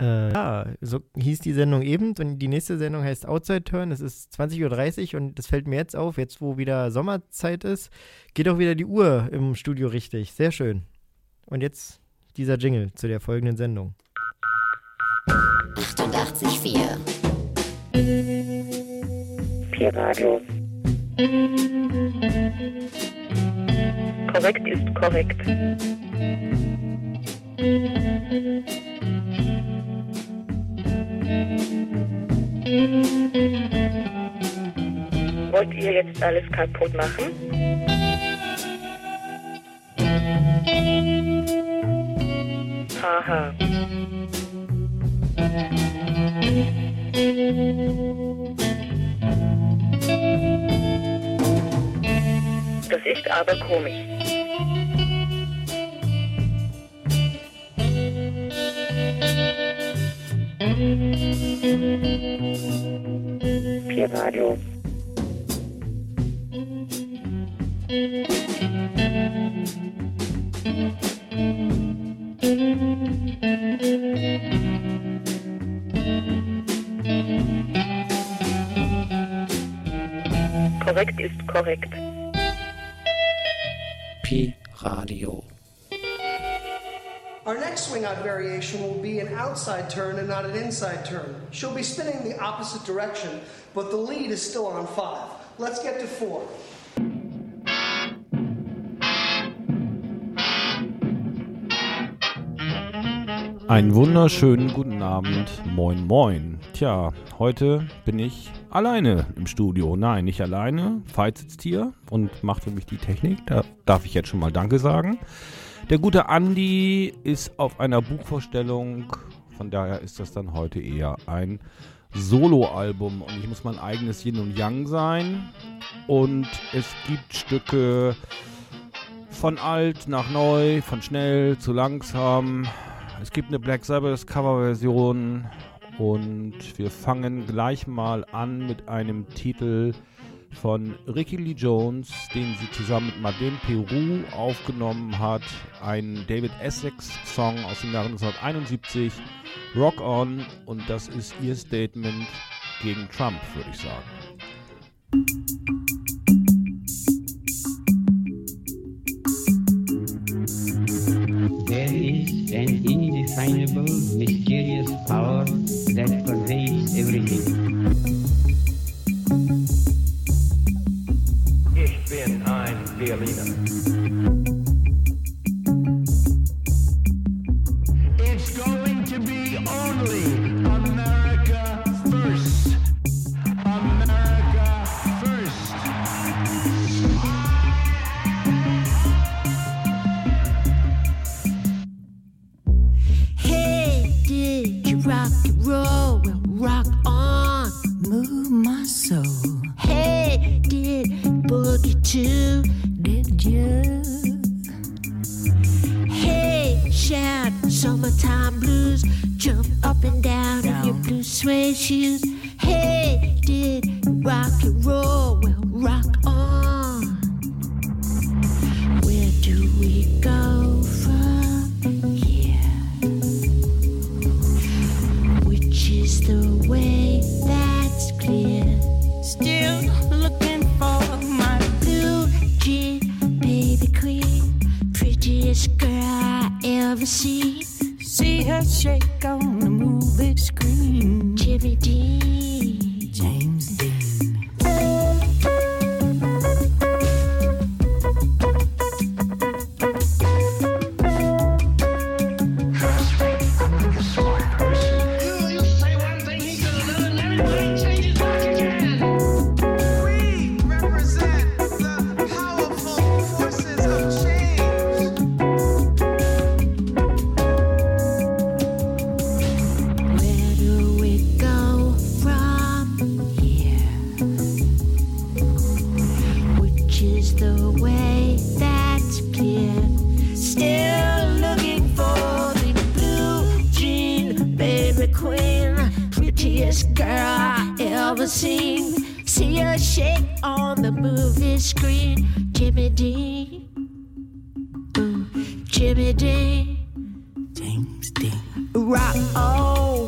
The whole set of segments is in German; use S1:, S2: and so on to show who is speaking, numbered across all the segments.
S1: Ja, so hieß die Sendung eben und die nächste Sendung heißt Outside Turn. Es ist 20.30 Uhr und das fällt mir jetzt auf, jetzt wo wieder Sommerzeit ist, geht auch wieder die Uhr im Studio richtig. Sehr schön. Und jetzt dieser Jingle zu der folgenden Sendung.
S2: 88,4
S3: Pi-Radio. Korrekt ist korrekt. Wollt ihr jetzt alles kaputt machen? Haha. Das ist aber komisch. Pi-Radio. Korrekt ist korrekt.
S2: Pi-Radio.
S4: Our next swing-out variation will be an outside turn and not an inside turn. She'll be spinning the opposite direction, but the lead is still on 5. Let's get to 4.
S5: Einen wunderschönen guten Abend, moin moin. Tja, heute bin ich alleine im Studio. Nein, nicht alleine. Veit sitzt hier und macht für mich die Technik. Da darf ich jetzt schon mal Danke sagen. Der gute Andi ist auf einer Buchvorstellung. Von daher ist das dann heute eher ein Soloalbum. Und ich muss mein eigenes Yin und Yang sein. Und es gibt Stücke von alt nach neu, von schnell zu langsam. Es gibt eine Black Sabbath Coverversion und wir fangen gleich mal an mit einem Titel von Ricky Lee Jones, den sie zusammen mit Madeleine Peru aufgenommen hat. Ein David Essex Song aus dem Jahre 1971, Rock On, und das ist ihr Statement gegen Trump, würde ich sagen.
S6: There is an indefinable, mysterious power that pervades everything.
S7: Ich bin ein Berliner. It's going to be only America first. America first.
S8: Hey, did you rock and roll? Well, rock on, move my soul. Hey, did boogie too? Did you? Hey, shout summertime blues, jump up and down in your blue suede shoes. Hey, did rock and roll? Well, rock on. Where do we go from here? Which is the way that's clear? Still looking for my blue jean, baby queen, prettiest girl I ever seen. See her shake on the movie screen. Jimmy Dean, James Dean.
S7: You say one thing, he gonna do another. Changes back again.
S9: We represent the powerful forces of change.
S8: Where do we go from here? Which is the way that's clear? Still looking for the blue jean, baby queen, prettiest girl I ever seen. See her shake on the movie screen. Jimmy Dean, ooh, Jimmy Dean, James Dean. Rock on.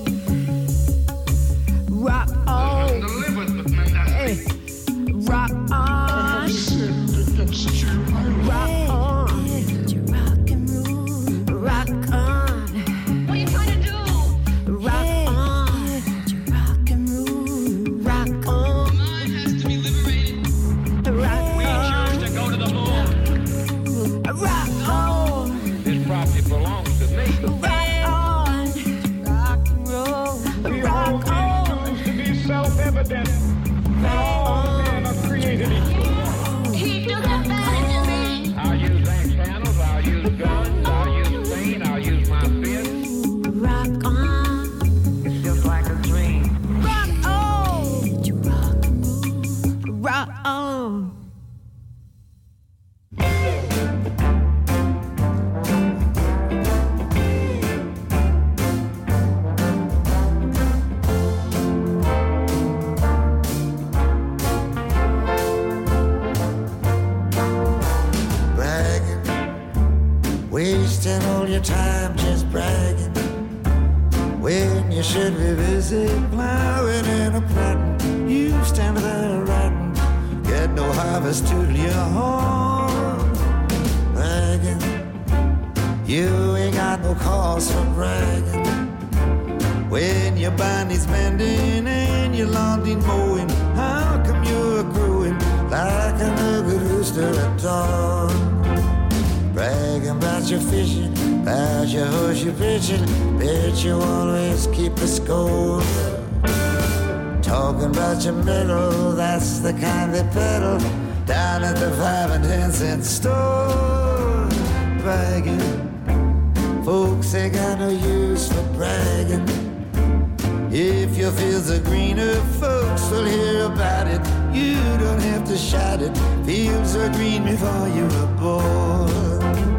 S10: you should be busy plowing and a planting. You stand there writing, get no harvest to your horn. Bragging, you ain't got no cause for bragging. When your body's bending and your lawn ain't mowing, how come you're growing like an ugly rooster at dawn? Bragging about your fishing, about your horse you're pitching, bet you always keep the score. Talking about your middle, that's the kind they peddle down at the 5 and 10 cent store. Bragging, folks ain't got no use for bragging. If your fields are greener, folks will hear about it. You don't have to shout it, fields are green before you were born.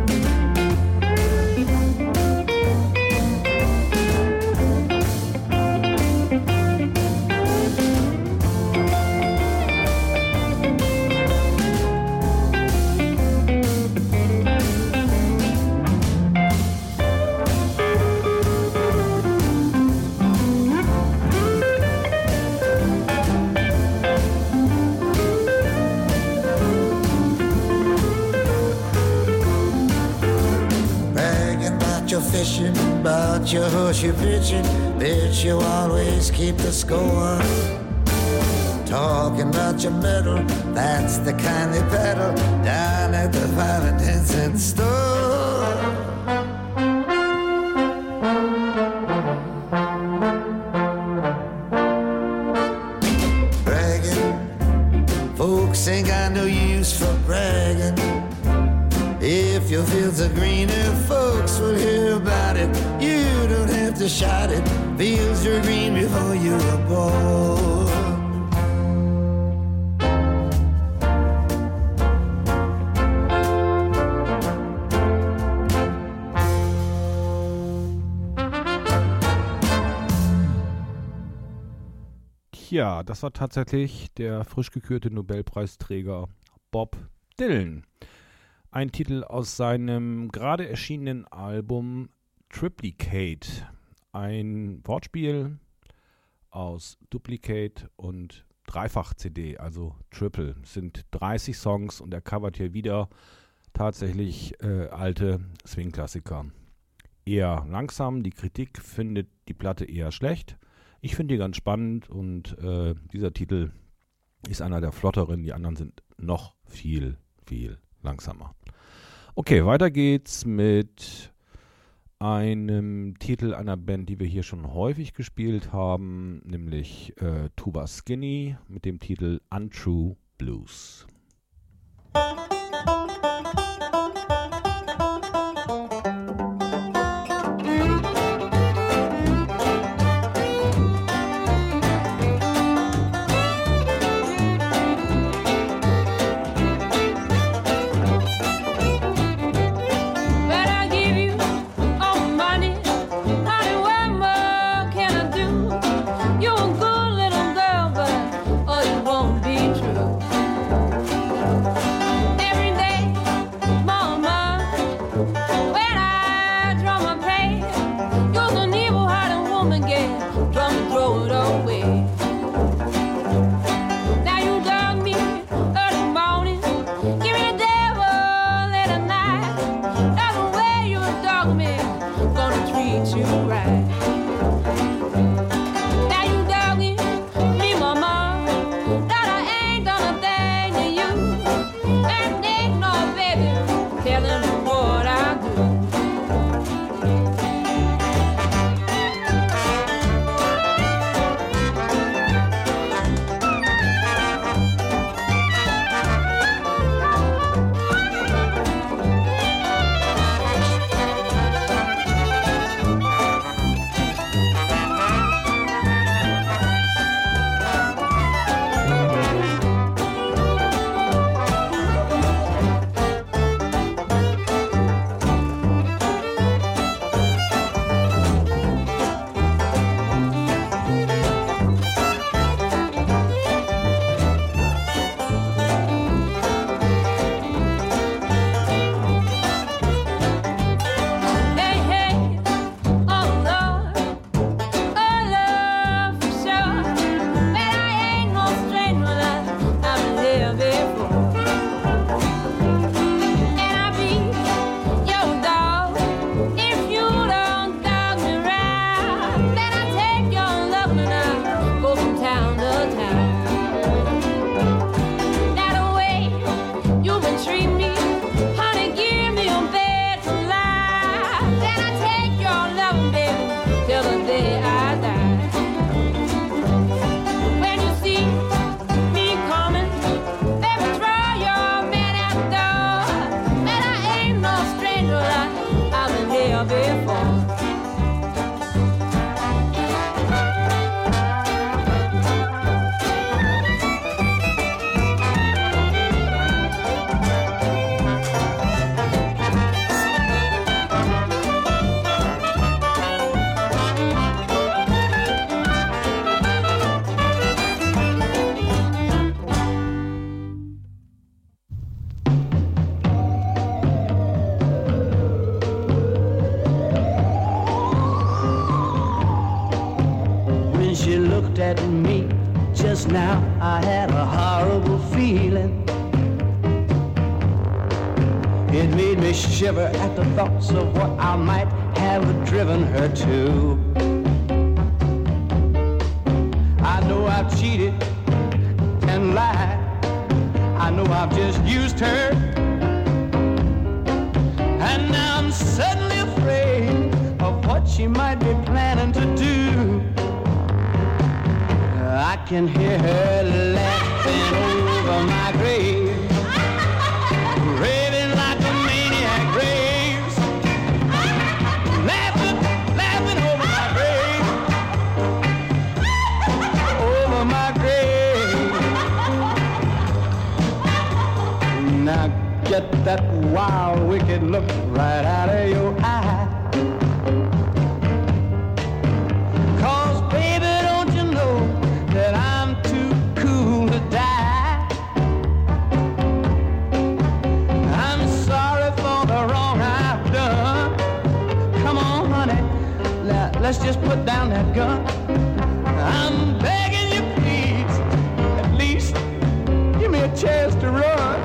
S10: Fishing, about your horse you're pitching, bet you always keep the score. Talking about your medal, that's the kind they peddle down at the 5 and 10 cent store. Bragging, folks ain't got no use for bragging. If your fields are greener, folks will hear about it. You don't have to shout it, fields are green before you were born.
S5: Ja, das war tatsächlich der frisch gekürte Nobelpreisträger Bob Dylan. Ein Titel aus seinem gerade erschienenen Album Triplicate. Ein Wortspiel aus Duplicate und Dreifach-CD, also Triple. Es sind 30 Songs und er covert hier wieder tatsächlich alte Swing-Klassiker. Eher langsam, die Kritik findet die Platte eher schlecht. Ich finde die ganz spannend und dieser Titel ist einer der flotteren, die anderen sind noch viel, viel langsamer. Okay, weiter geht's mit einem Titel einer Band, die wir hier schon häufig gespielt haben, nämlich Tuba Skinny mit dem Titel Untrue Blues.
S11: she looked at me just now, I had a horrible feeling. It made me shiver at the thoughts of what I might have driven her to. I know I've cheated and lied. I know I've just used her. And now I'm suddenly afraid of what she might be planning to do. I can hear her laughing over my grave, raving like a maniac raves, laughing over my grave, over my grave. Now get that wild, wicked look right out of your eye. 'Cause baby, don't you know that I'm too cool to die? I'm sorry for the wrong I've done. Come on, honey, let's just put down that gun. I'm begging you, please, at least give me a chance to run.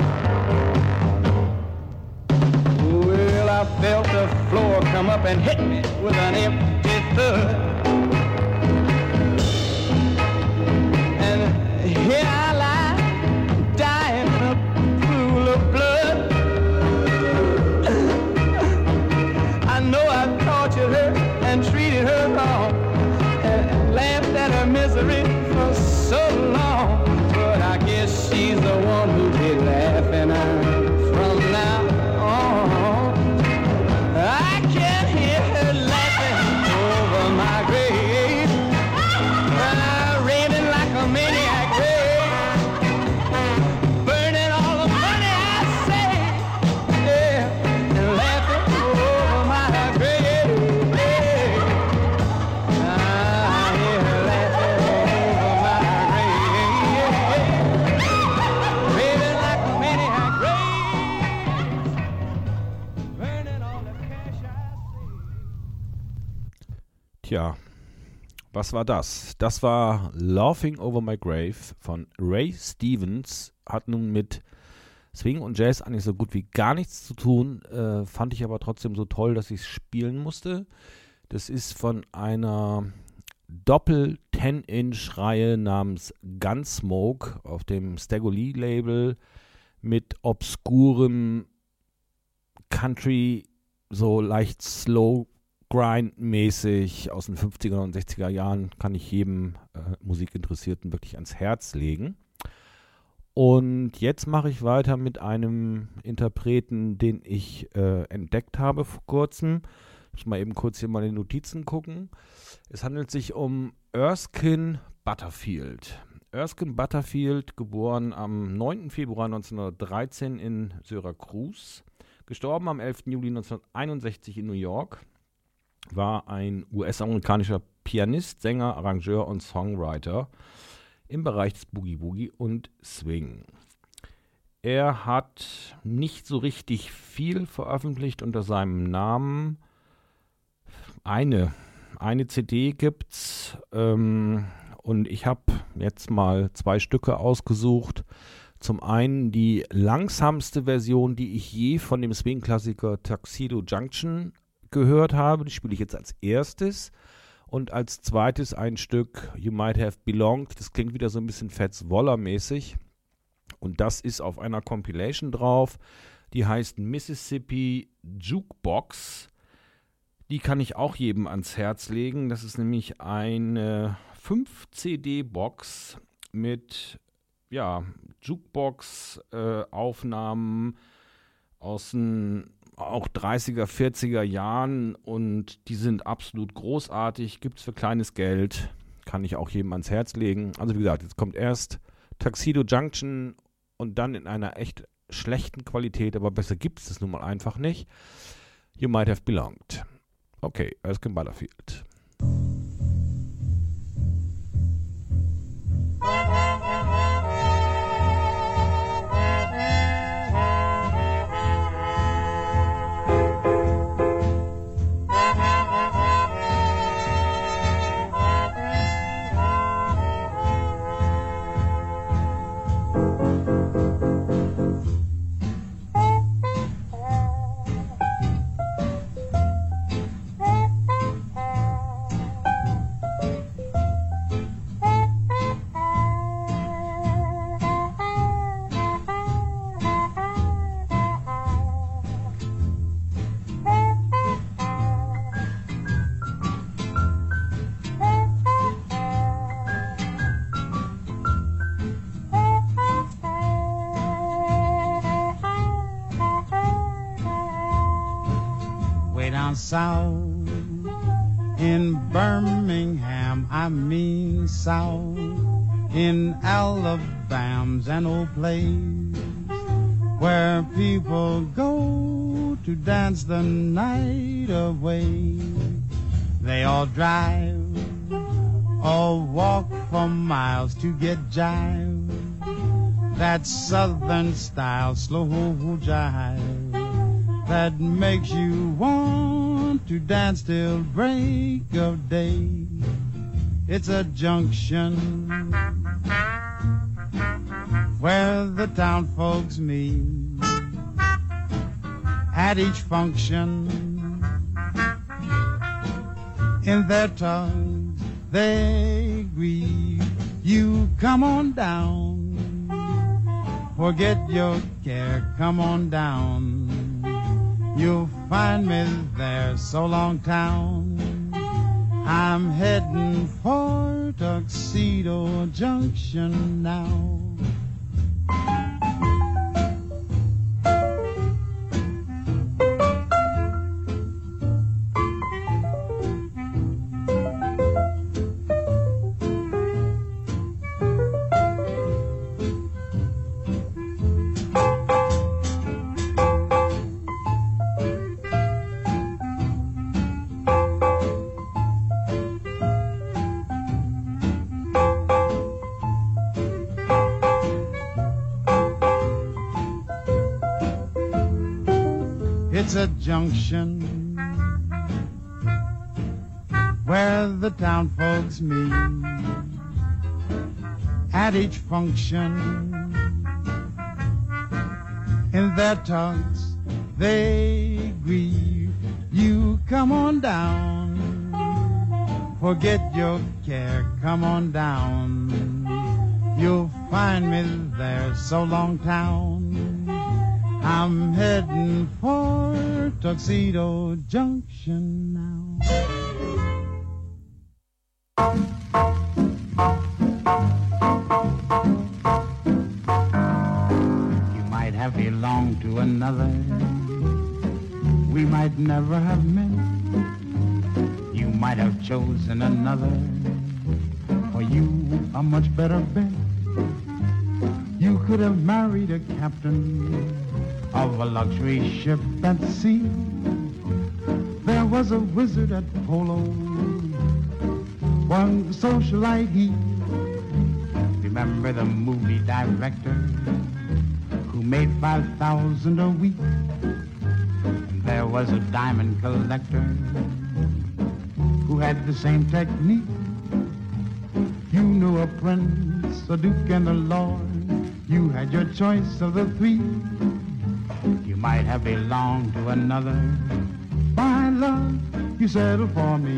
S11: Well, I felt the floor come up and hit me with an empty thud. And here I lie, dying in a pool of blood. I know I tortured her and treated her wrong, and laughed at her misery for so long. But I guess she's the one who'll be laughing from now on. I can hear her laughing over my grave, raving like a maniac rave, burning all the money I saved, yeah, and laughing over my grave. I hear her laughing over my grave, raving like a maniac rave, burning all the cash I saved.
S5: Tja, was war das? Das war Laughing Over My Grave von Ray Stevens. Hat nun mit Swing und Jazz eigentlich so gut wie gar nichts zu tun, fand ich aber trotzdem so toll, dass ich es spielen musste. Das ist von einer Doppel-10-Inch-Reihe namens Gunsmoke auf dem Stagger Lee Label mit obskurem Country, so leicht slow Grind-mäßig aus den 50er und 60er Jahren, kann ich jedem Musikinteressierten wirklich ans Herz legen. Und jetzt mache ich weiter mit einem Interpreten, den ich entdeckt habe vor kurzem. Ich muss mal eben kurz hier mal in die Notizen gucken. Es handelt sich um Erskine Butterfield. Erskine Butterfield, geboren am 9. Februar 1913 in Syracuse, gestorben am 11. Juli 1961 in New York, war ein US-amerikanischer Pianist, Sänger, Arrangeur und Songwriter im Bereich des Boogie-Woogie und Swing. Er hat nicht so richtig viel veröffentlicht unter seinem Namen. Eine CD gibt's und ich habe jetzt mal 2 Stücke ausgesucht. Zum einen die langsamste Version, die ich je von dem Swing-Klassiker Tuxedo Junction gehört habe. Die spiele ich jetzt als erstes. Und als zweites ein Stück You Might Have Belonged. Das klingt wieder so ein bisschen Fats Waller-mäßig. Und das ist auf einer Compilation drauf. Die heißt Mississippi Jukebox. Die kann ich auch jedem ans Herz legen. Das ist nämlich eine 5-CD-Box mit Jukebox-Aufnahmen aus den auch 30er, 40er Jahren und die sind absolut großartig, gibt es für kleines Geld, kann ich auch jedem ans Herz legen. Also wie gesagt, jetzt kommt erst Tuxedo Junction und dann in einer echt schlechten Qualität, aber besser gibt es das nun mal einfach nicht. You Might Have Belonged. Okay, Erskine Butterfield.
S12: South. In Birmingham, I mean South. In Alabama's an old place where people go to dance the night away. They all drive or walk for miles to get jive. That southern style, slow jive, that makes you want to dance till break of day. It's a junction where the town folks meet. At each function, in their tongues they grieve. You come on down, forget your care, come on down. You'll find me there, so long town. I'm heading for Tuxedo Junction now. It's a junction where the town folks meet. At each function, in their talks they grieve. You come on down, forget your care, come on down. You'll find me there, so long town. I'm heading for Tuxedo Junction now. You might have belonged to another. We might never have met. You might have chosen another. For you, a much better bet. You could have married a captain of a luxury ship at sea. There was a wizard at polo, one socialite he. Remember the movie director who made 5,000 a week? And there was a diamond collector who had the same technique. You knew a prince, a duke, and a lord. You had your choice of the three. You might have belonged to another. My love, you settled for me.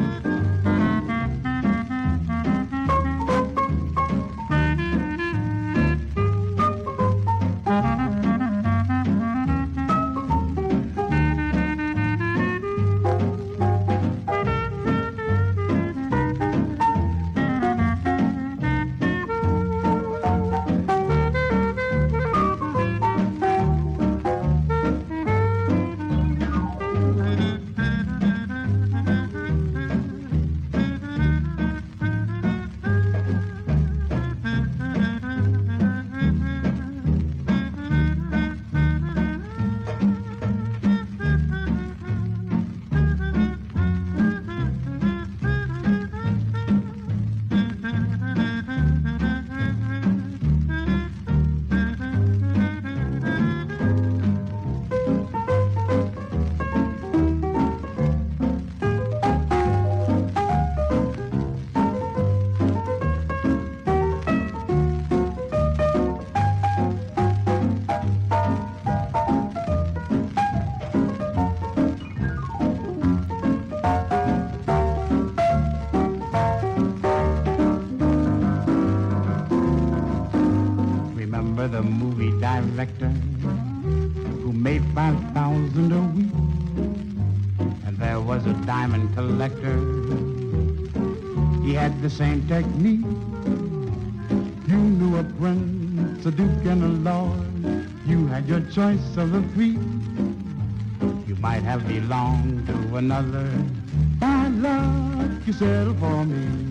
S12: The movie director who made 5,000 a week. And there was a diamond collector. He had the same technique. You knew a prince, a duke, and a lord. You had your choice of the three. You might have belonged to another. Bad luck, you settle for me.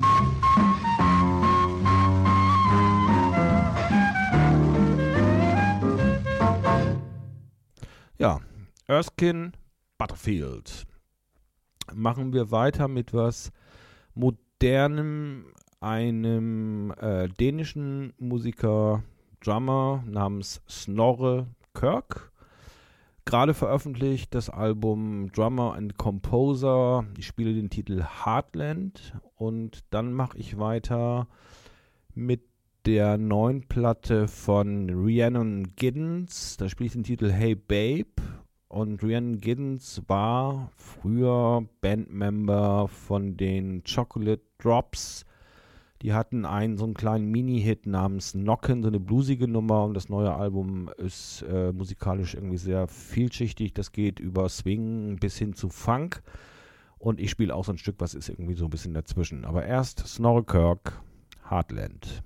S5: Ja, Erskine Butterfield. Machen wir weiter mit was Modernem, einem dänischen Musiker, Drummer namens Snorre Kirk. Gerade veröffentlicht das Album Drummer and Composer. Ich spiele den Titel Heartland und dann mache ich weiter mit der neuen Platte von Rhiannon Giddens. Da spiele ich den Titel Hey Babe. Und Rhiannon Giddens war früher Bandmember von den Chocolate Drops. Die hatten so einen kleinen Mini-Hit namens Knockin', so eine bluesige Nummer. Und das neue Album ist musikalisch irgendwie sehr vielschichtig. Das geht über Swing bis hin zu Funk. Und ich spiele auch so ein Stück, was ist irgendwie so ein bisschen dazwischen. Aber erst Snorre Kirk, Heartland.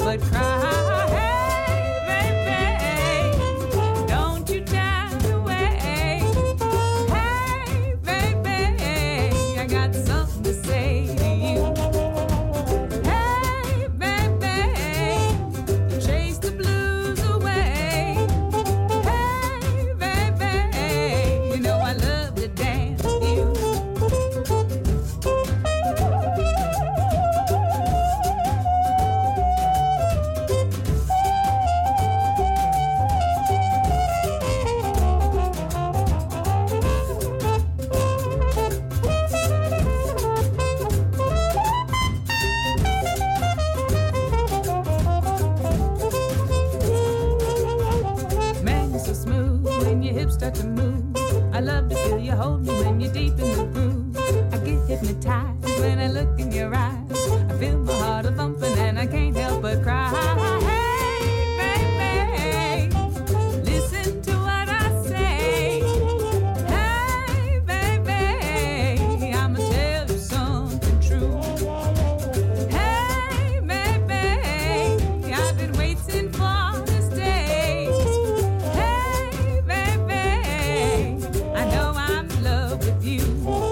S13: but cry. Hey, baby, don't you turn away. Hey, baby, I got something to say to you. Hey, baby, chase the blues away. Hey, baby, you know I love to dance with you. Man, you're so smooth when your hips start to move. I love to feel you hold me when you're deep in the groove. I get hypnotized when I look in your eyes. I feel my heart a thumping and I can't help but cry. Hey, baby, listen to what I say. Hey, baby, I'ma tell you something true. Hey, baby, I've been waiting for this day. Hey, baby, I know I'm in love with you.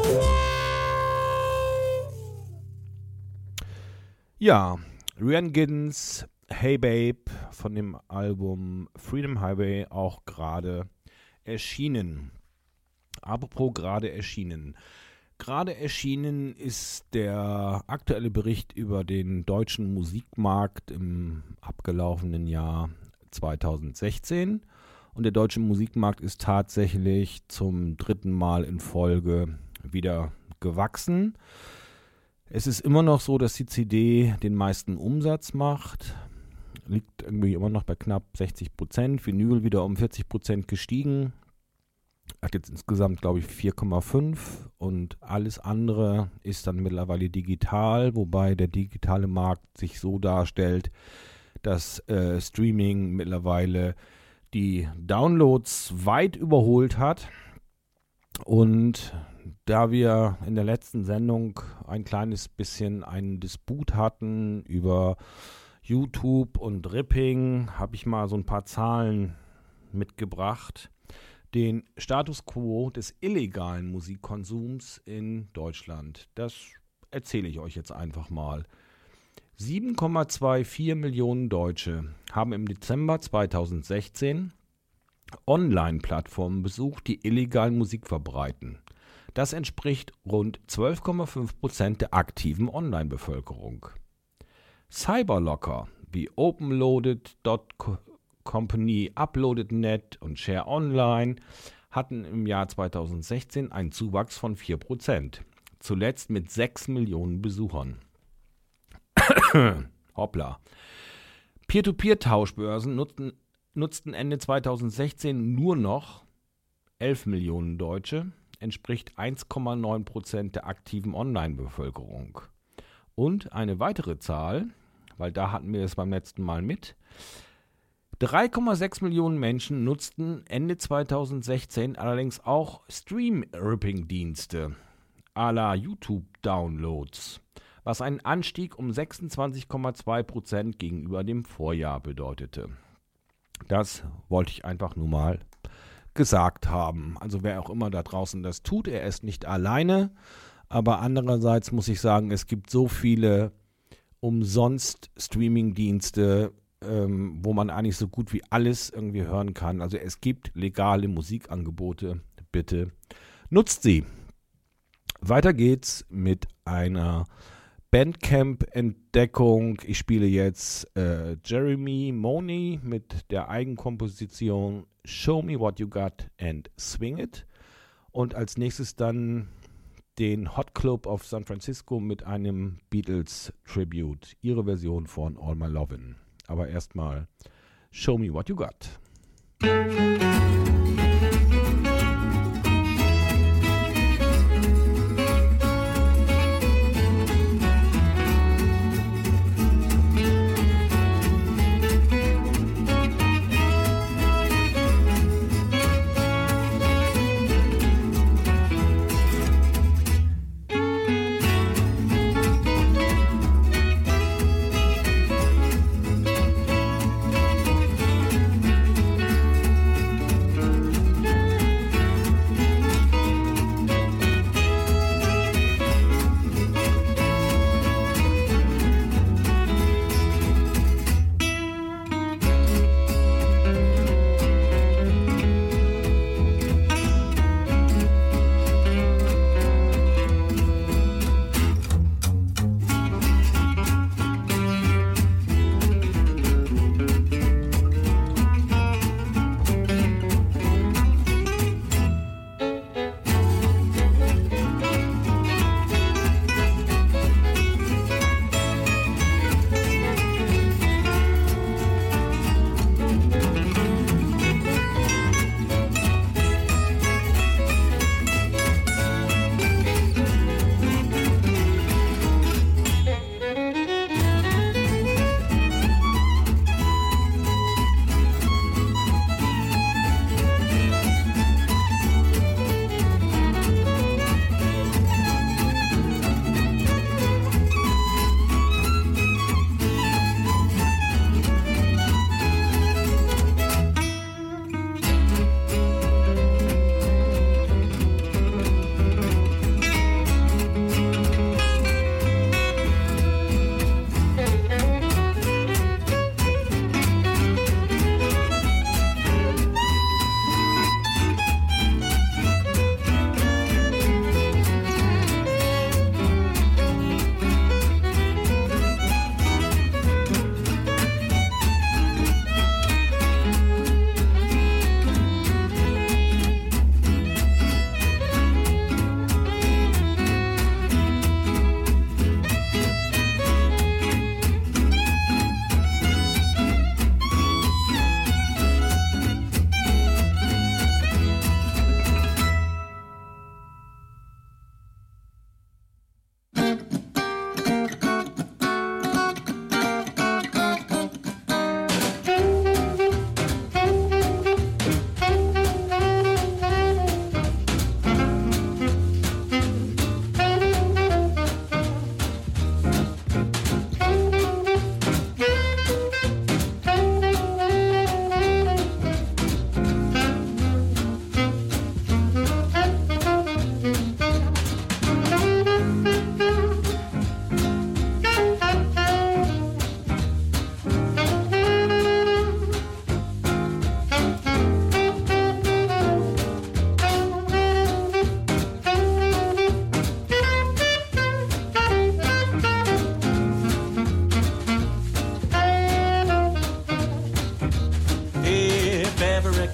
S5: Ja, Ryan Giddens, Hey Babe von dem Album Freedom Highway, auch gerade erschienen. Apropos gerade erschienen. Gerade erschienen ist der aktuelle Bericht über den deutschen Musikmarkt im abgelaufenen Jahr 2016. Und der deutsche Musikmarkt ist tatsächlich zum 3. Mal in Folge wieder gewachsen. Es ist immer noch so, dass die CD den meisten Umsatz macht. Liegt irgendwie immer noch bei knapp 60%. Vinyl wieder um 40% gestiegen. Hat jetzt insgesamt, glaube ich, 4,5. Und alles andere ist dann mittlerweile digital. Wobei der digitale Markt sich so darstellt, dass Streaming mittlerweile die Downloads weit überholt hat. Und da wir in der letzten Sendung ein kleines bisschen einen Disput hatten über YouTube und Ripping, habe ich mal so ein paar Zahlen mitgebracht. Den Status quo des illegalen Musikkonsums in Deutschland. Das erzähle ich euch jetzt einfach mal. 7,24 Millionen Deutsche haben im Dezember 2016 Online-Plattformen besucht, die illegal Musik verbreiten. Das entspricht rund 12,5% der aktiven Online-Bevölkerung. Cyberlocker wie OpenLoaded.company, Uploaded.net und Share Online hatten im Jahr 2016 einen Zuwachs von 4%, zuletzt mit 6 Millionen Besuchern. Hoppla. Peer-to-Peer-Tauschbörsen nutzten Ende 2016 nur noch 11 Millionen Deutsche, entspricht 1,9% der aktiven Online-Bevölkerung. Und eine weitere Zahl, weil da hatten wir es beim letzten Mal mit, 3,6 Millionen Menschen nutzten Ende 2016 allerdings auch Stream-Ripping-Dienste à la YouTube-Downloads, was einen Anstieg um 26,2% gegenüber dem Vorjahr bedeutete. Das wollte ich einfach nur mal gesagt haben. Also wer auch immer da draußen das tut, er ist nicht alleine. Aber andererseits muss ich sagen, es gibt so viele umsonst Streaming-Dienste, wo man eigentlich so gut wie alles irgendwie hören kann. Also es gibt legale Musikangebote. Bitte nutzt sie. Weiter geht's mit einer Bandcamp-Entdeckung. Ich spiele jetzt Jeremy Money mit der Eigenkomposition Show Me What You Got and Swing It. Und als nächstes dann den Hot Club of San Francisco mit einem Beatles-Tribute. Ihre Version von All My Lovin'. Aber erstmal Show Me What You Got.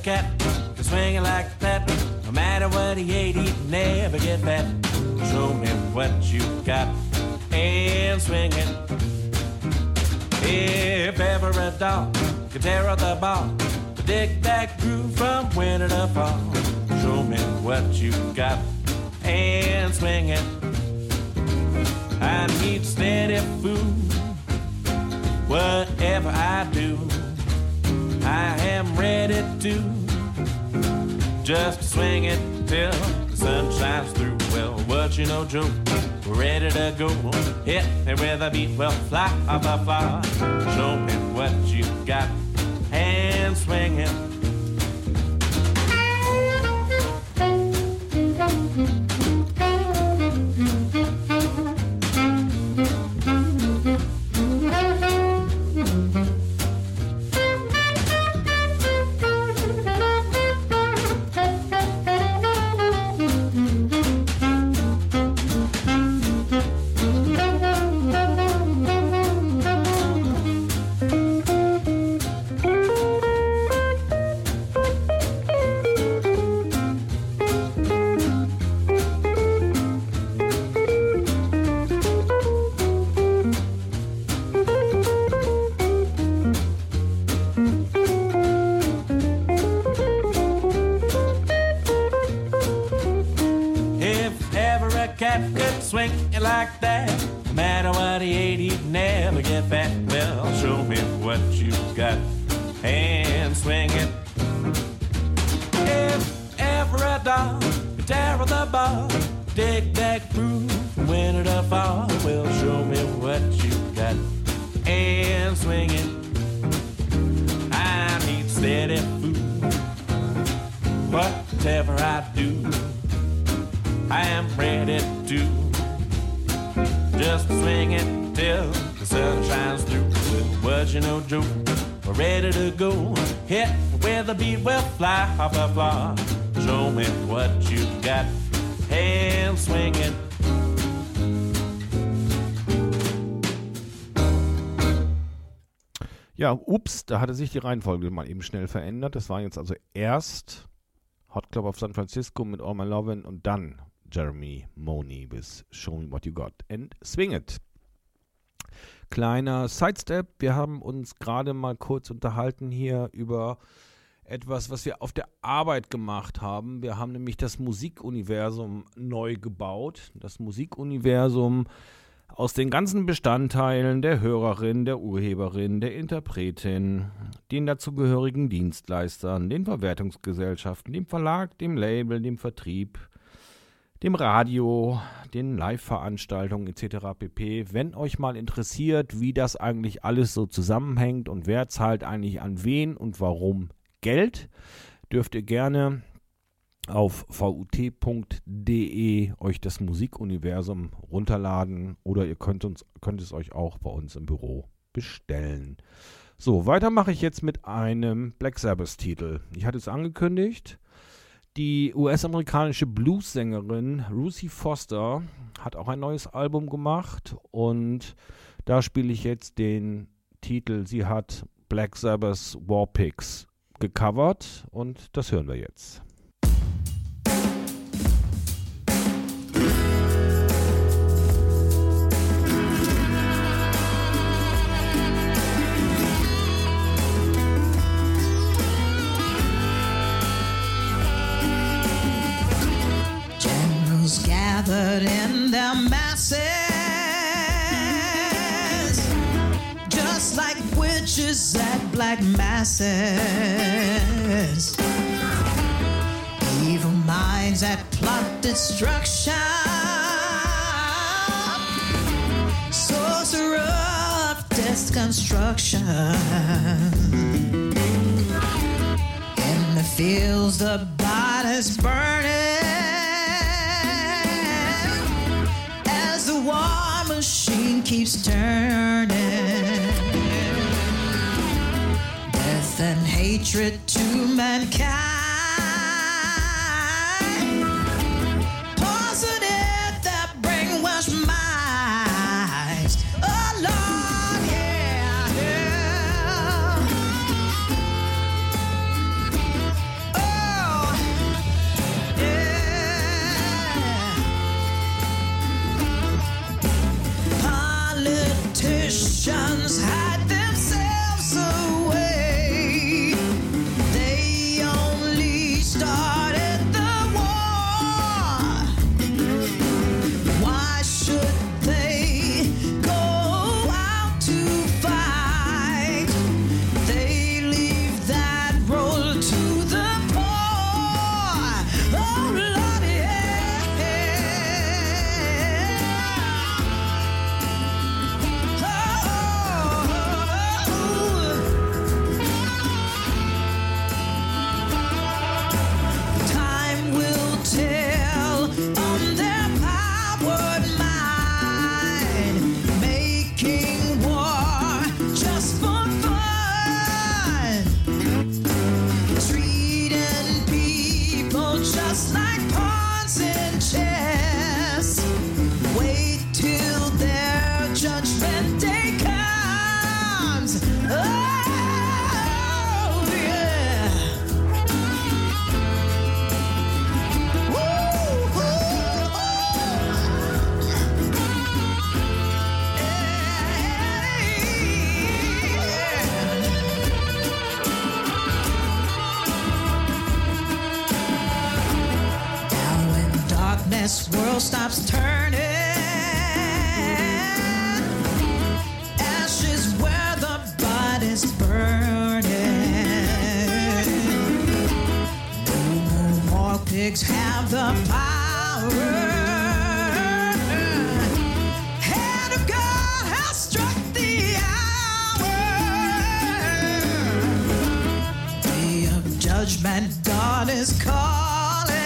S14: cat can swing it like that. No matter what he ate, he'd never get fat. Show me what you got and swing it. If ever a dog could tear up the ball, dig that groove from winter to fall. Show me what you got and swing it. I need steady food, whatever I do. I am ready to just swing it till the sun shines through. Well, what you know, Joe, we're ready to go. Hit me with a beat, we'll fly off the floor. Show me what you got and swing it. Like that, no matter what he ate, he'd never get fat. Well, show me what you got and swing it. If ever a dog could tear up the ball, dig that groove from winter to fall. Well, show me what you got and swing it. I need steady food, whatever I do, I am ready to just swing it till the sun shines through. What you know, Joe, we're ready to go. Hit with the beat, we'll fly off the floor. Show me what you got and swing it.
S5: Ja, ups, da hatte sich die Reihenfolge mal eben schnell verändert. Das war jetzt also erst Hot Club of San Francisco mit All My Lovin' und dann Jeremy Money with Show Me What You Got and Swing It. Kleiner Sidestep, wir haben uns gerade mal kurz unterhalten hier über etwas, was wir auf der Arbeit gemacht haben. Wir haben nämlich das Musikuniversum neu gebaut. Das Musikuniversum aus den ganzen Bestandteilen der Hörerin, der Urheberin, der Interpretin, den dazugehörigen Dienstleistern, den Verwertungsgesellschaften, dem Verlag, dem Label, dem Vertrieb, dem Radio, den Live-Veranstaltungen etc. pp. Wenn euch mal interessiert, wie das eigentlich alles so zusammenhängt und wer zahlt eigentlich an wen und warum Geld, dürft ihr gerne auf vut.de euch das Musikuniversum runterladen oder ihr könnt es euch auch bei uns im Büro bestellen. So, weiter mache ich jetzt mit einem Black Sabbath-Titel. Ich hatte es angekündigt. Die US-amerikanische Blues-Sängerin Ruthie Foster hat auch ein neues Album gemacht und da spiele ich jetzt den Titel. Sie hat Black Sabbath's War Pigs gecovert und das hören wir jetzt.
S8: Gathered in their masses, just like witches at black masses, evil minds that plot destruction, sorcerer of death's construction. In the fields the bodies burning, the war machine keeps turning. Death and hatred to mankind. Positive that brainwash minds. Oh Lord, yeah, yeah. this world stops turning. Ashes where the body's burning. No more pigs have the power. Hand of God has struck the hour. Day of judgment, God is calling.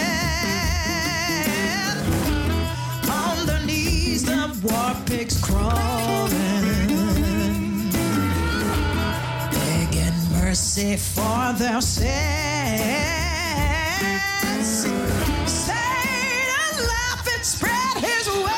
S8: On their knees, the war pigs crawling, begging mercy for their sins. Satan laughing, spread his wings.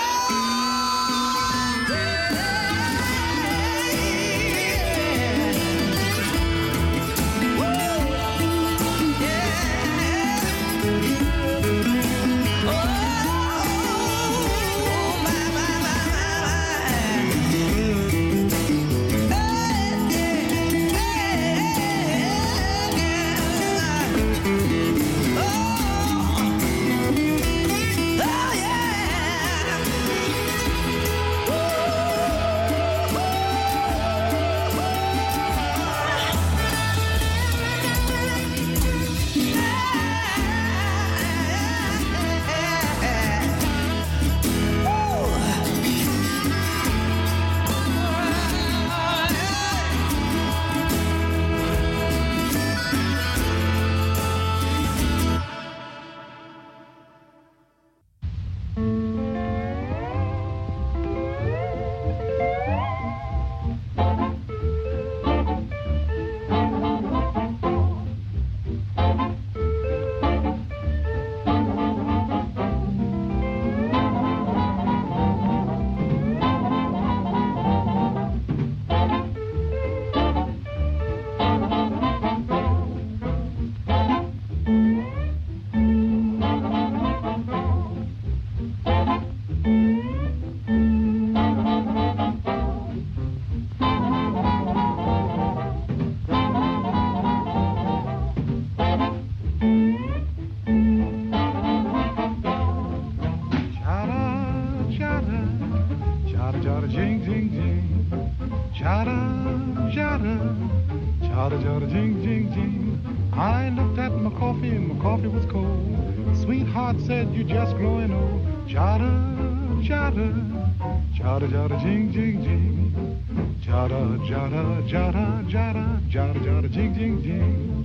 S12: I looked at my coffee and my coffee was cold. Sweetheart said, you just growing old. Chada, chada, chada, chada, jing, jing, jing. Chada, chada, chada, chada, chada, chada, jing, jing, jing.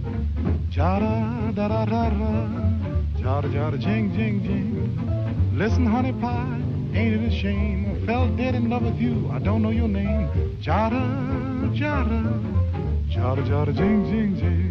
S12: Chada, da, da, da, da. Chada, chada, jing, jing, jing. Listen, honey pie, ain't it a shame? I fell dead in love with you, I don't know your name. Chada, chada, chada, chada, jing, jing, jing.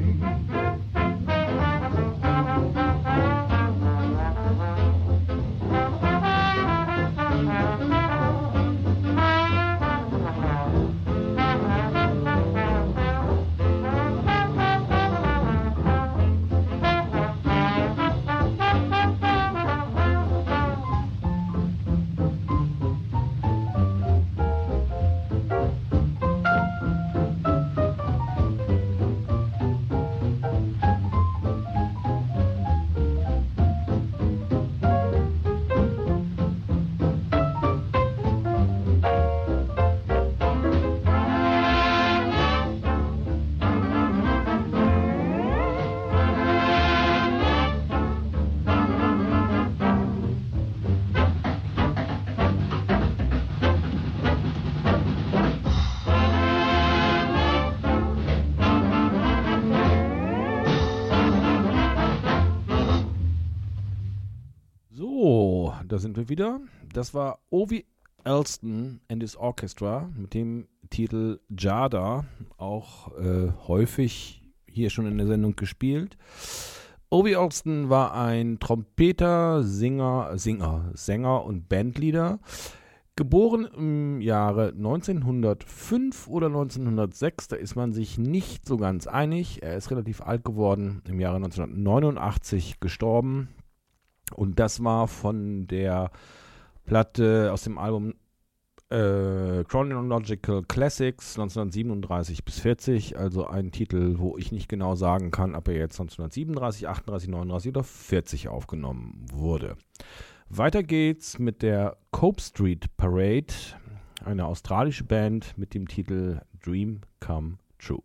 S5: Da sind wir wieder. Das war Ovie Elston and his Orchestra mit dem Titel Jada, auch häufig hier schon in der Sendung gespielt. Ovie Elston war ein Trompeter, Sänger und Bandleader. Geboren im Jahre 1905 oder 1906, da ist man sich nicht so ganz einig. Er ist relativ alt geworden, im Jahre 1989 gestorben. Und das war von der Platte aus dem Album Chronological Classics 1937 bis 40, also ein Titel, wo ich nicht genau sagen kann, ob er jetzt 1937, 38, 39 oder 40 aufgenommen wurde. Weiter geht's mit der Cope Street Parade, eine australische Band mit dem Titel Dream Come True.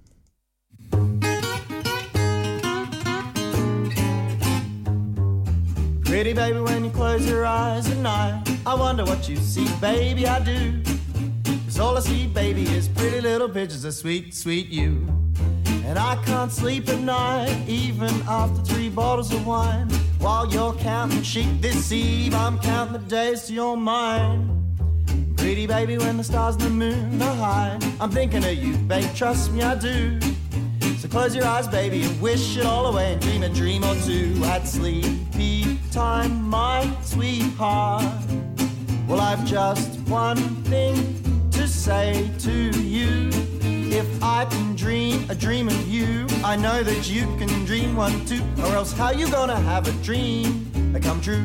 S15: Pretty baby, when you close your eyes at night, I wonder what you see, baby, I do. 'Cause all I see, baby, is pretty little pictures of sweet, sweet you. And I can't sleep at night, even after 3 bottles of wine. While you're counting sheep this eve, I'm counting the days to your mind. Pretty baby, when the stars and the moon are high, I'm thinking of you, babe, trust me, I do. So close your eyes, baby, and wish it all away and dream a dream or two at sleepy time, my sweetheart. Well, I've just one thing to say to you. If I can dream a dream of you, I know that you can dream one too. Or else how you gonna have a dream that come true?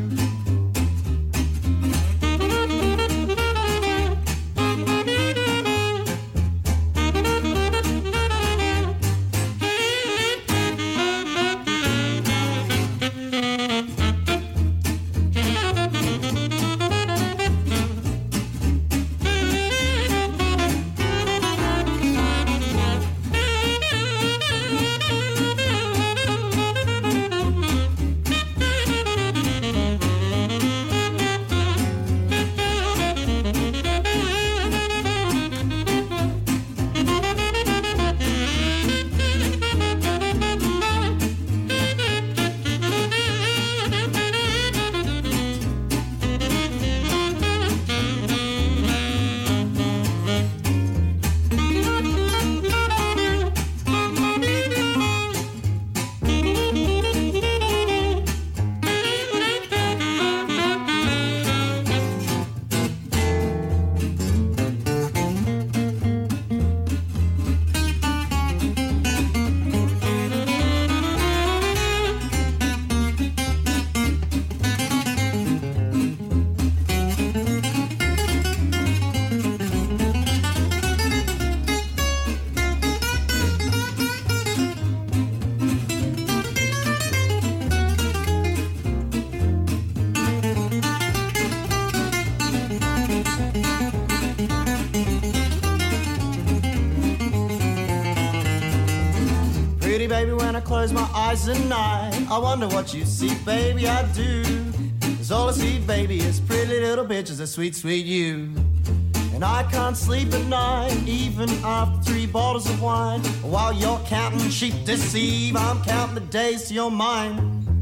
S15: Close my eyes at night, I wonder what you see, baby, I do. 'Cause all I see, baby, is pretty little pictures of sweet, sweet you. And I can't sleep at night, even after 3 bottles of wine. While you're counting sheep this eve, I'm counting the days to your mind.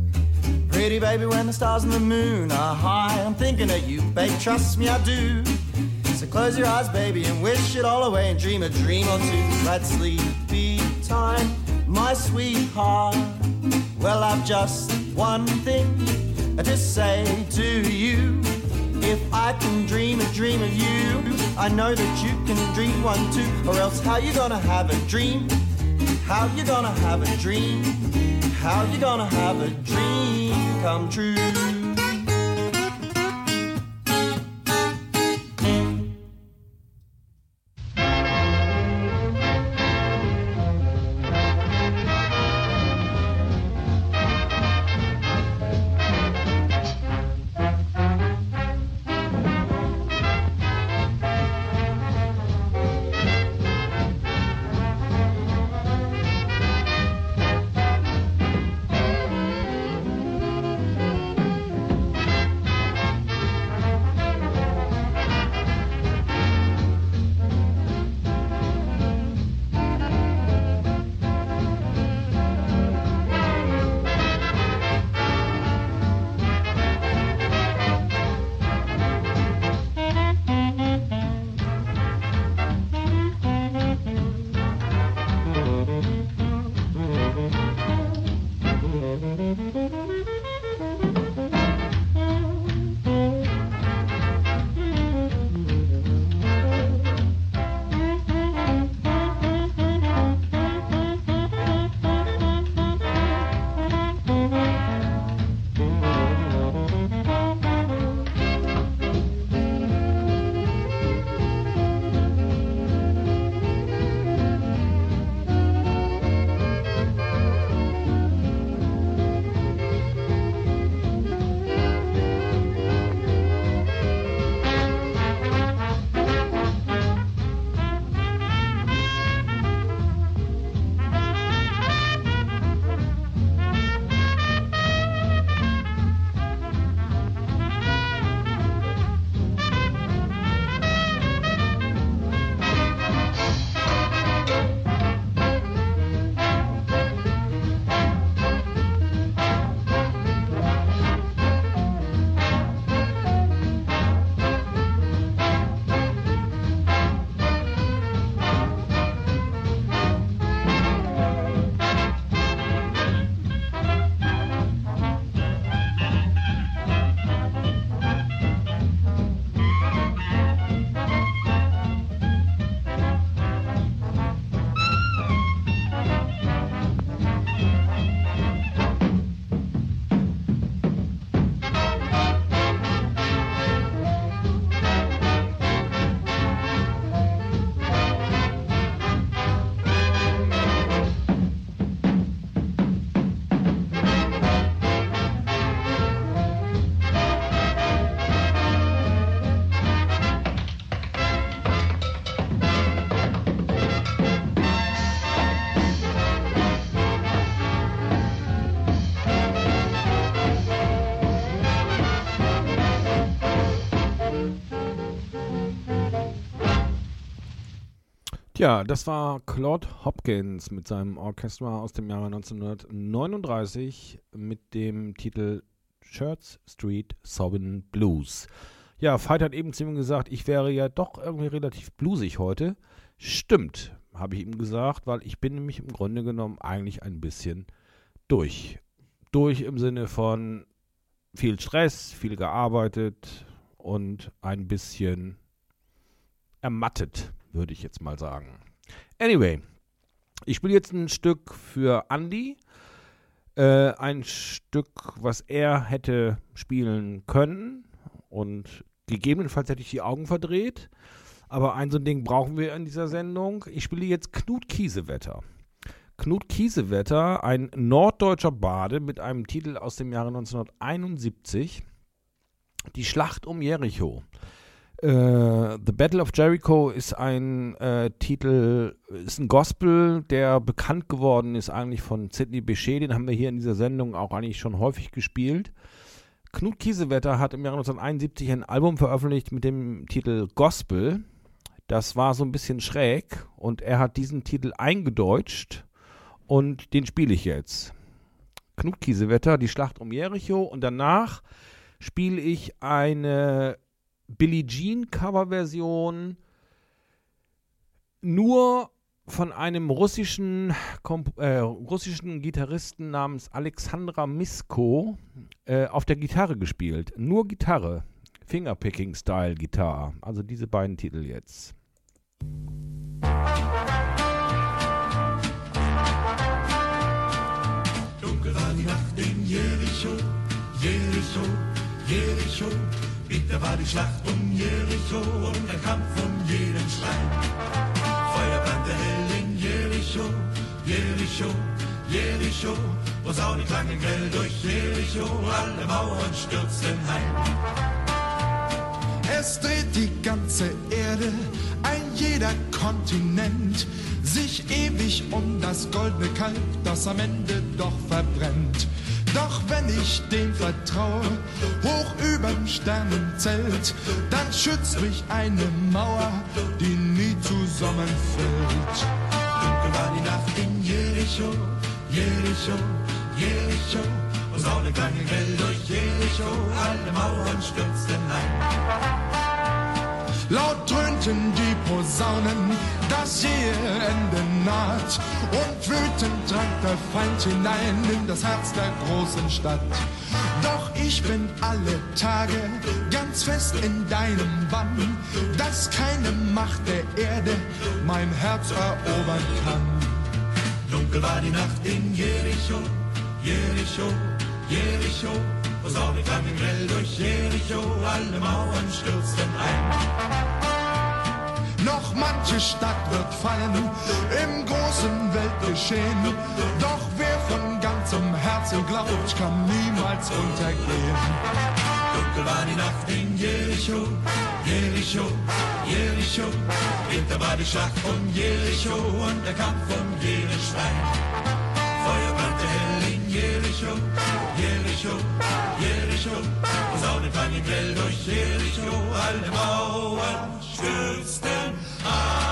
S15: Pretty baby, when the stars and the moon are high, I'm thinking of you, babe, trust me, I do. So close your eyes, baby, and wish it all away and dream a dream or two. That sleepy time, my sweetheart. Well, I've just one thing to say to you. If I can dream a dream of you, I know that you can dream one too. Or else how you gonna have a dream? How you gonna have a dream? How you gonna have a dream come true?
S5: Ja, das war Claude Hopkins mit seinem Orchester aus dem Jahre 1939 mit dem Titel Church Street Sobbin' Blues. Ja, Veit hat eben zu ihm gesagt, ich wäre ja doch irgendwie relativ bluesig heute. Stimmt, habe ich ihm gesagt, weil ich bin nämlich im Grunde genommen eigentlich ein bisschen durch. Durch im Sinne von viel Stress, viel gearbeitet und ein bisschen ermattet, würde ich jetzt mal sagen. Anyway, ich spiele jetzt ein Stück für Andy. Ein Stück, was er hätte spielen können und gegebenenfalls hätte ich die Augen verdreht. Aber ein so ein Ding brauchen wir in dieser Sendung. Ich spiele jetzt Knut Kiesewetter. Knut Kiesewetter, ein norddeutscher Bade mit einem Titel aus dem Jahre 1971. Die Schlacht um Jericho. The Battle of Jericho ist ein Titel, ist ein Gospel, der bekannt geworden ist eigentlich von Sidney Bechet. Den haben wir hier in dieser Sendung auch eigentlich schon häufig gespielt. Knut Kiesewetter hat im Jahre 1971 ein Album veröffentlicht mit dem Titel Gospel. Das war so ein bisschen schräg und er hat diesen Titel eingedeutscht und den spiele ich jetzt. Knut Kiesewetter, die Schlacht um Jericho, und danach spiele ich eine Billie Jean Coverversion nur von einem russischen Gitarristen namens Alexandra Misko auf der Gitarre gespielt. Nur Gitarre, Fingerpicking-Style-Gitarre. Also diese beiden Titel jetzt.
S16: Dunkel war die Nacht in Jericho, Jericho, Jericho. Bitter war die Schlacht um Jericho und der Kampf um jeden Stein. Feuer brannte hell in Jericho, Jericho, Jericho. Posaune klangen grell durch Jericho, alle Mauern stürzten heim.
S17: Es dreht die ganze Erde, ein jeder Kontinent, sich ewig um das goldene Kalb, das am Ende doch verbrennt. Doch wenn ich dem vertraue, hoch überm Sternenzelt, dann schützt mich eine Mauer, die nie zusammenfällt.
S16: Dunkel war die Nacht in Jericho, Jericho, Jericho. Posaune klangen grell durch Jericho, alle Mauern stürzten ein.
S17: Laut dröhnten die Posaunen, das jähe Ende naht, und wütend drang der Feind hinein in das Herz der großen Stadt. Doch ich bin alle Tage ganz fest in deinem Bann, dass keine Macht der Erde mein Herz erobern kann.
S16: Dunkel war die Nacht in Jericho, Jericho, Jericho. Posaune klangen grell durch Jericho, alle Mauern stürzten ein.
S17: Noch manche Stadt wird fallen im großen Weltgeschehen, doch wer von ganzem Herzen glaubt, kann niemals untergehen.
S16: Dunkel war die Nacht in Jericho, Jericho, Jericho. Bitter war die Schlacht um Jericho und der Kampf um jeden Stein. Feuer brannte hell in Jericho, Jericho, Jericho. Posaune klangen grell durch Jericho, alle Mauern stürzten ein.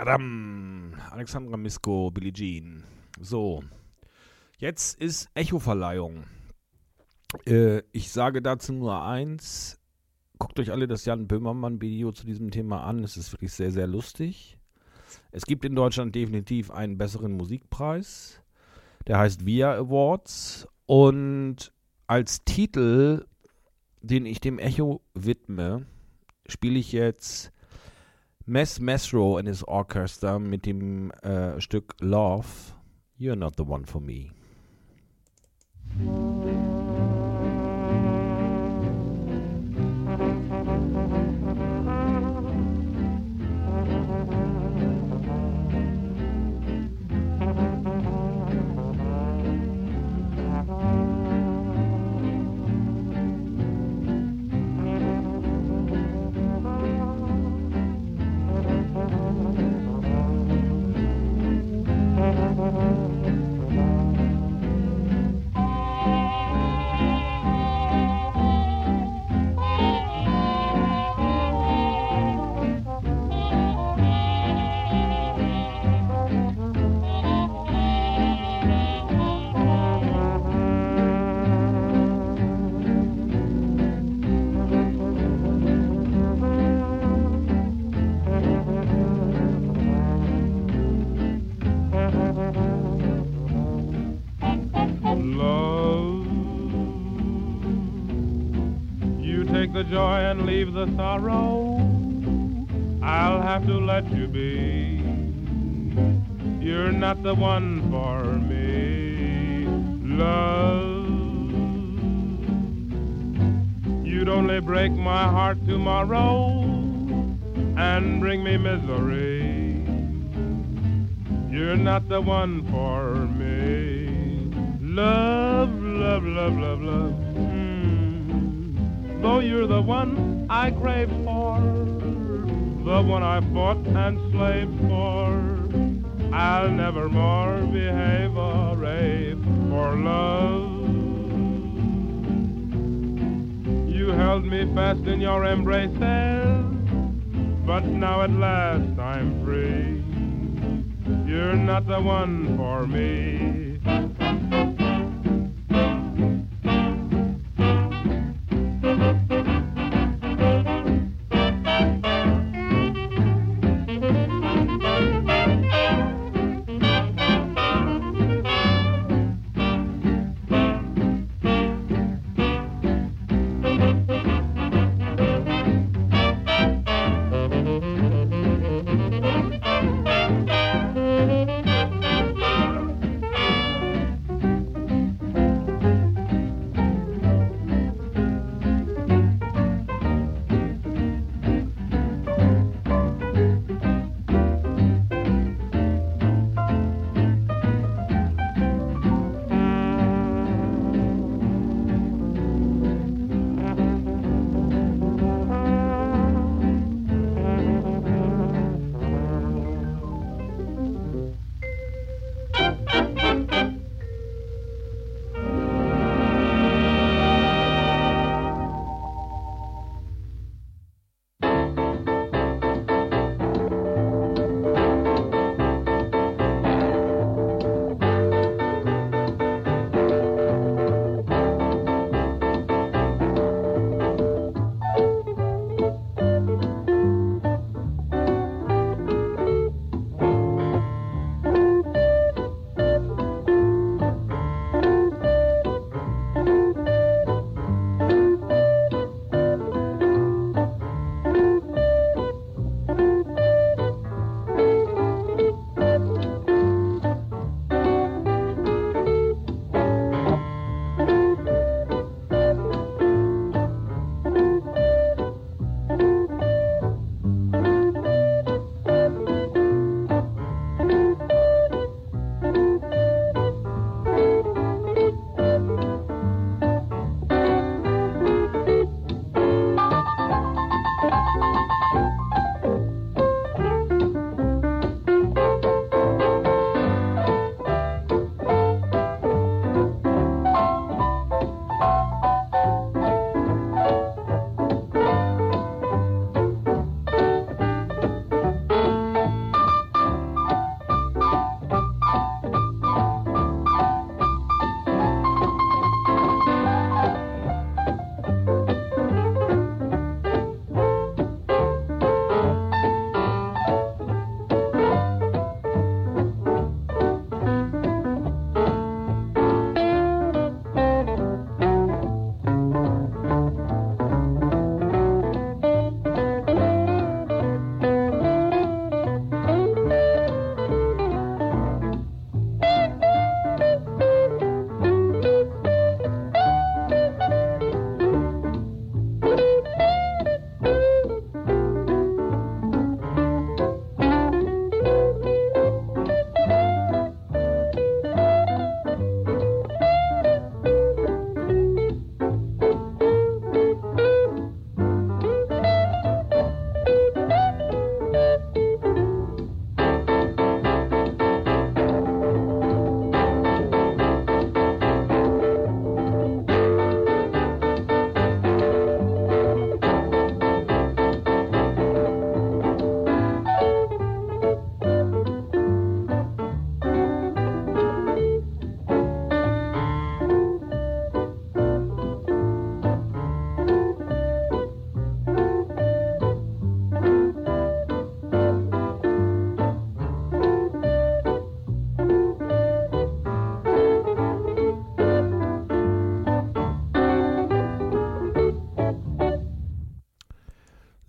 S5: Tadam! Alexandra Misko, Billie Jean. So, jetzt ist Echo-Verleihung. Ich sage dazu nur eins. Guckt euch alle das Jan Böhmermann-Video zu diesem Thema an. Es ist wirklich sehr, sehr lustig. Es gibt in Deutschland definitiv einen besseren Musikpreis. Der heißt VIA Awards. Und als Titel, den ich dem Echo widme, spiele ich jetzt Mess Mesro and his Orchestra mit dem Stück Love, You're Not the One for Me.
S18: The joy and leave the sorrow, I'll have to let you be. You're not the one for me, love. You'd only break my heart tomorrow and bring me misery. You're not the one for me, love, love, love, love, love. Though you're the one I crave for, the one I fought and slaved for, I'll never more behave or rave for love. You held me fast in your embraces, but now at last I'm free. You're not the one for me.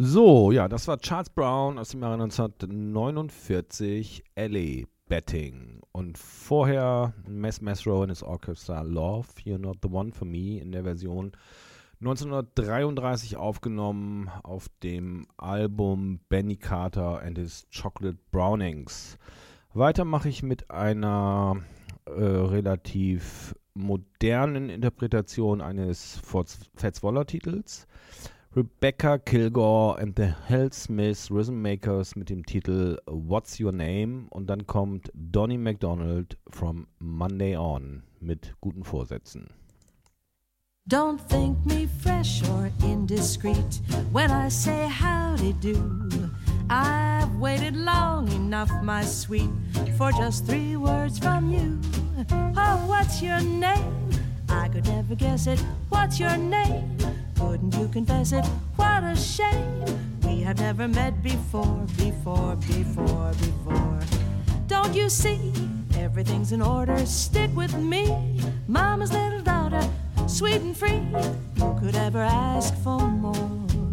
S5: So, ja, das war Charles Brown aus dem Jahre 1949, LA Betting. Und vorher Mess Mesro and his Orchestra, Love, You're Not the One for Me, in der Version 1933 aufgenommen auf dem Album Benny Carter and his Chocolate Brownings. Weiter mache ich mit einer relativ modernen Interpretation eines Fats Waller Titels. Rebecca Kilgore and the Hell Smith Rhythm Makers mit dem Titel What's Your Name? Und dann kommt Donnie McDonald from Monday On mit guten Vorsätzen.
S8: Don't think me fresh or indiscreet when I say howdy do. I've waited long enough, my sweet, for just 3 words from you. Oh, what's your name? I could never guess it. What's your name? Couldn't you confess it? What a shame. We have never met before. Don't you see? Everything's in order. Stick with me. Mama's little daughter, sweet and free. Who could ever ask for more?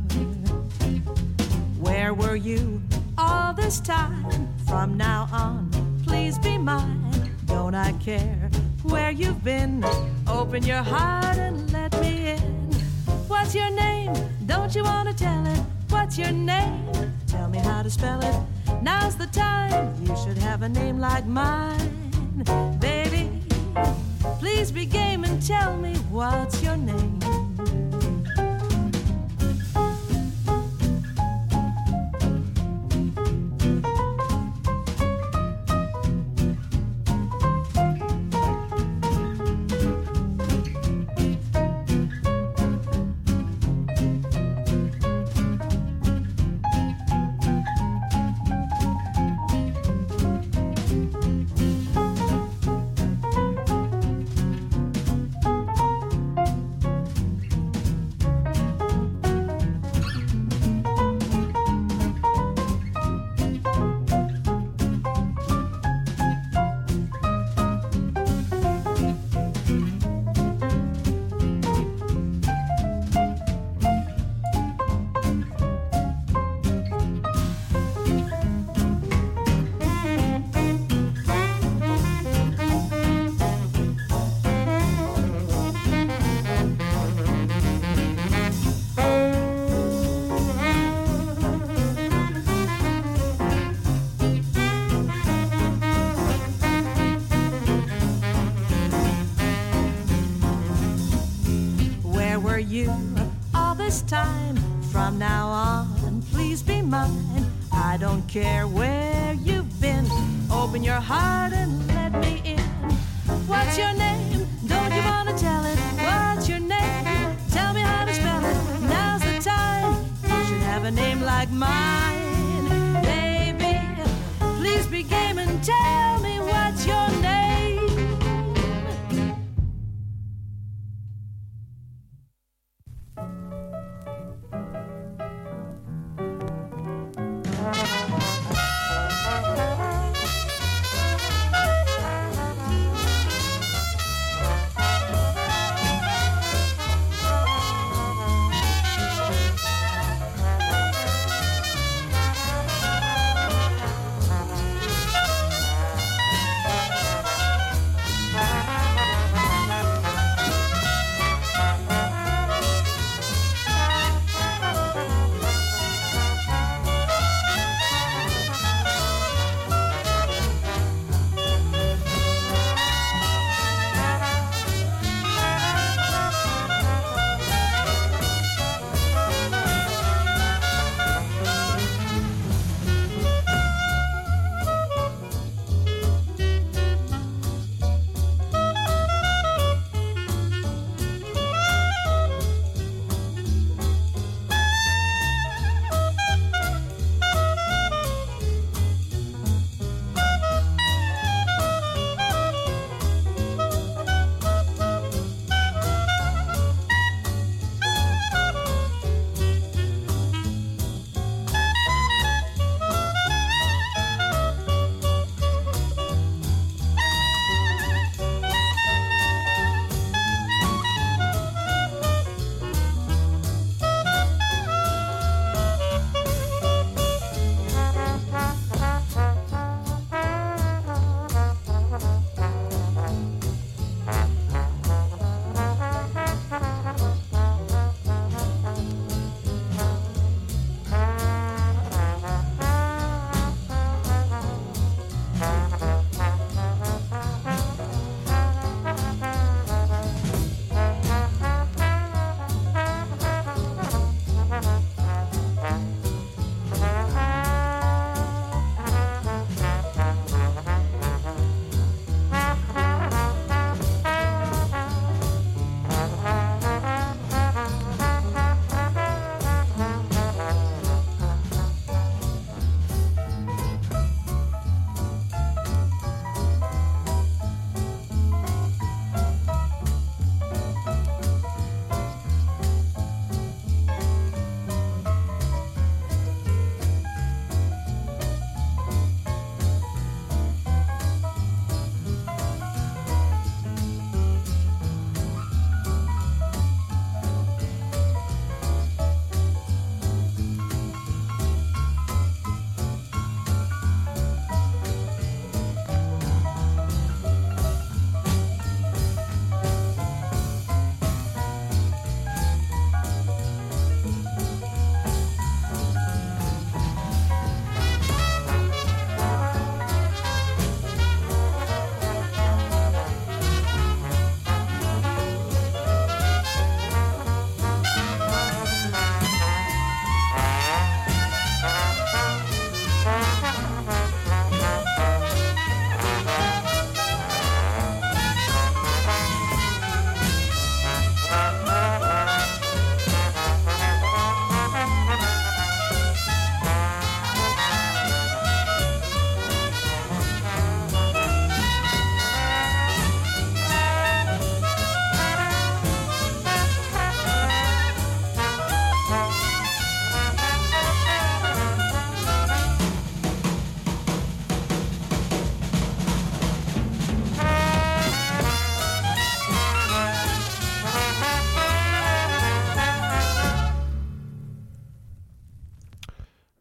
S8: Where were you all this time? From now on, please be mine. Don't I care where you've been? Open your heart and let me in. What's your name? Don't you want to tell it? What's your name? Tell me how to spell it. Now's the time. You should have a name like mine. Baby, please be game and tell me what's your name. You all this time. From now on, please be mine. I don't care where you've been. Open your heart and let me in. What's your name? Don't you want to tell it? What's your name? Tell me how to spell it. Now's the time. You should have a name like mine. Baby, please be game and tell me what's your name.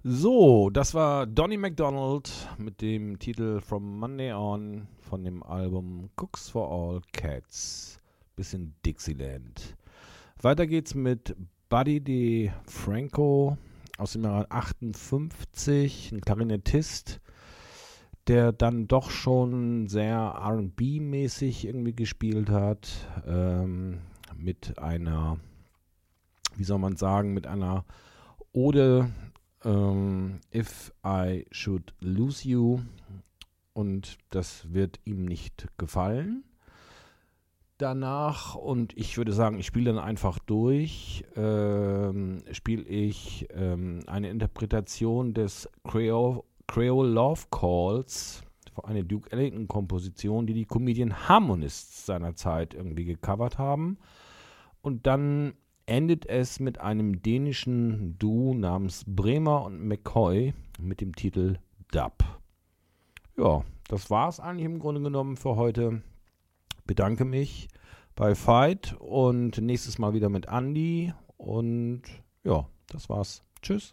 S5: So, das war Donny McDonald mit dem Titel From Monday On von dem Album Cooks for All Cats. Bisschen Dixieland. Weiter geht's mit Buddy DeFranco aus dem Jahr 58, ein Klarinettist, der dann doch schon sehr R&B-mäßig irgendwie gespielt hat, mit einer, wie soll man sagen, mit einer Ode, If I Should Lose You, und das wird ihm nicht gefallen. Danach, und ich würde sagen, ich spiele dann einfach durch, spiele ich eine Interpretation des Creole Love Calls, eine Duke Ellington-Komposition, die Comedian Harmonists seinerzeit irgendwie gecovert haben. Und dann endet es mit einem dänischen Duo namens Bremer und McCoy mit dem Titel Dub. Ja, das war es eigentlich im Grunde genommen für heute. Bedanke mich bei Veit und nächstes Mal wieder mit Andi. Und ja, das war's. Tschüss.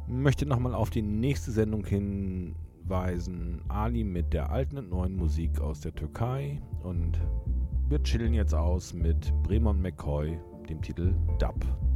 S5: Möchte nochmal auf die nächste Sendung hinweisen. Ali mit der alten und neuen Musik aus der Türkei. Und wir chillen jetzt aus mit Bremer und McCoy, dem Titel Dub.